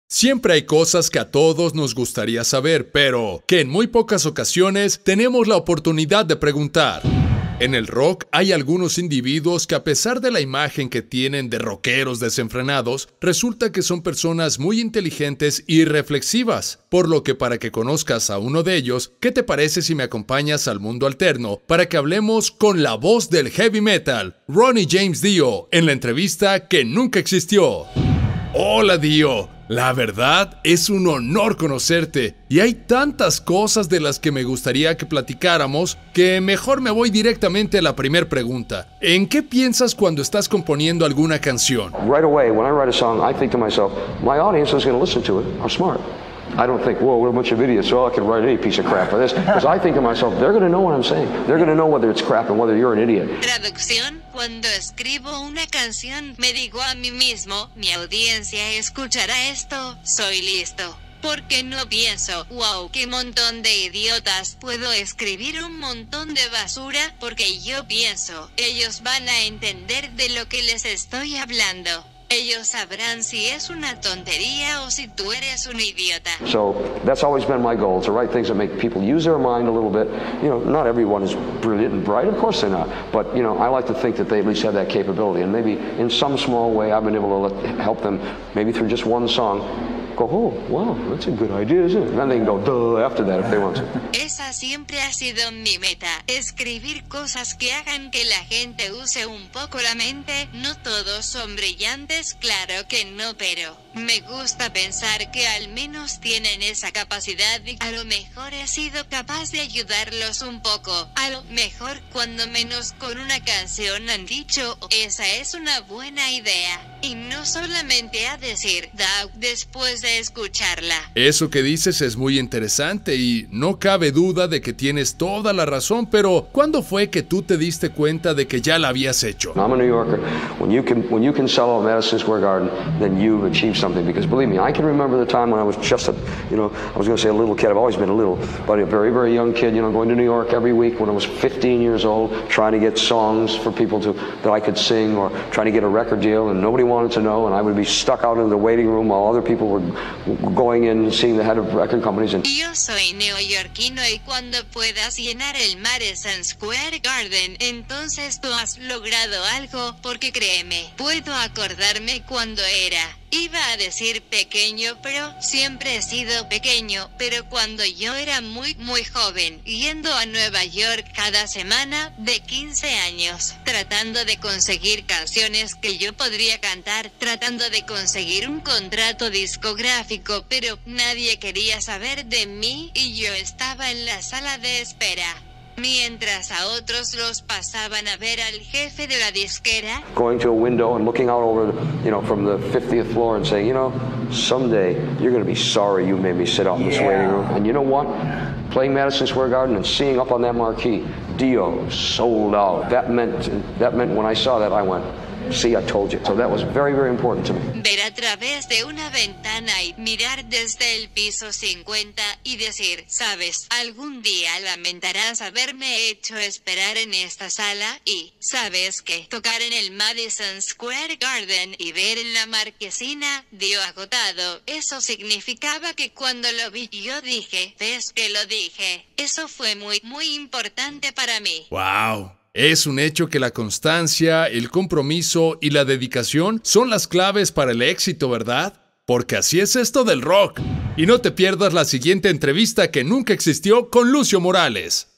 Siempre hay cosas que a todos nos gustaría saber, pero que en muy pocas ocasiones tenemos la oportunidad de preguntar. En el rock hay algunos individuos que, a pesar de la imagen que tienen de rockeros desenfrenados, resulta que son personas muy inteligentes y reflexivas. Por lo que, para que conozcas a uno de ellos, ¿qué te parece si me acompañas al mundo alterno para que hablemos con la voz del heavy metal, Ronnie James Dio, en la entrevista que nunca existió? Hola, Dio. La verdad, es un honor conocerte, y hay tantas cosas de las que me gustaría que platicáramos que mejor me voy directamente a la primera pregunta. ¿En qué piensas cuando estás componiendo alguna canción? Right away, when I write a song, I think to myself, my audience is going to listen to it. I'm smart. I don't think, whoa, we're a bunch of idiots, so I can write any piece of crap for this. Because I think to myself, they're going to know what I'm saying. They're going to know whether it's crap and whether you're an idiot. Traducción: cuando escribo una canción, me digo a mí mismo, mi audiencia escuchará esto, soy listo. Porque no pienso, wow, qué montón de idiotas, puedo escribir un montón de basura, porque yo pienso, ellos van a entender de lo que les estoy hablando. Ellos sabrán si es una tontería o si tú eres un idiota. So that's always been my goal, to write things that make people use their mind a little bit. You know, not everyone is brilliant and bright, of course they're not. But, you know, I like to think that they at least have that capability. And maybe in some small way I've been able to help them, maybe through just one song, go, oh, wow, that's a good idea, isn't it? And then they can go, duh, after that if they want to. Esa siempre ha sido mi meta, escribir cosas que hagan que la gente use un poco la mente. No todos son brillantes, claro que no, pero me gusta pensar que al menos tienen esa capacidad y a lo mejor he sido capaz de ayudarlos un poco. A lo mejor cuando menos con una canción han dicho, esa es una buena idea. Y no solamente a decir, da, después de escucharla. Eso que dices es muy interesante y no cabe duda de que tienes toda la razón, pero ¿cuándo fue que tú te diste cuenta de que ya la habías hecho? I'm a New Yorker. When you can sell out Madison Square Garden, then you've achieved something. Because believe me, I can remember the time when I was just I was going to say a little kid. I've always been a little, but a very, very young kid, going to New York every week when I was 15 years old, trying to get songs for people that I could sing, or trying to get a record deal, and nobody wanted to know, and I would be stuck out in the waiting room while other people were going in and seeing the head of record companies. Yo soy neoyorquino, y cuando puedas llenar el Madison Square Garden, entonces tú has logrado algo, porque créeme, puedo acordarme cuando era. Iba a decir pequeño, pero siempre he sido pequeño, pero cuando yo era muy joven, yendo a Nueva York cada semana, de 15 años, tratando de conseguir canciones que yo podría cantar, tratando de conseguir un contrato discográfico, pero nadie quería saber de mí, y yo estaba en la sala de espera. Mientras a otros los pasaban a ver al jefe de la disquera. Going to a window and looking out over, from the 50th floor and saying, someday you're going to be sorry you made me sit out in this waiting room. And you know what? Playing Madison Square Garden and seeing up on that marquee, Dio sold out. That meant when I saw that, I went, see, I told you. So that was very, very important to me. Ver a través de una ventana y mirar desde el piso 50 y decir, sabes, algún día lamentarás haberme hecho esperar en esta sala, y, ¿sabes qué? Tocar en el Madison Square Garden y ver en la marquesina, Dio agotado, eso significaba que cuando lo vi yo dije, ¿ves que lo dije? Eso fue muy, muy importante para mí. ¡Wow! Es un hecho que la constancia, el compromiso y la dedicación son las claves para el éxito, ¿verdad? Porque así es esto del rock. Y no te pierdas la siguiente entrevista que nunca existió con Lucio Morales.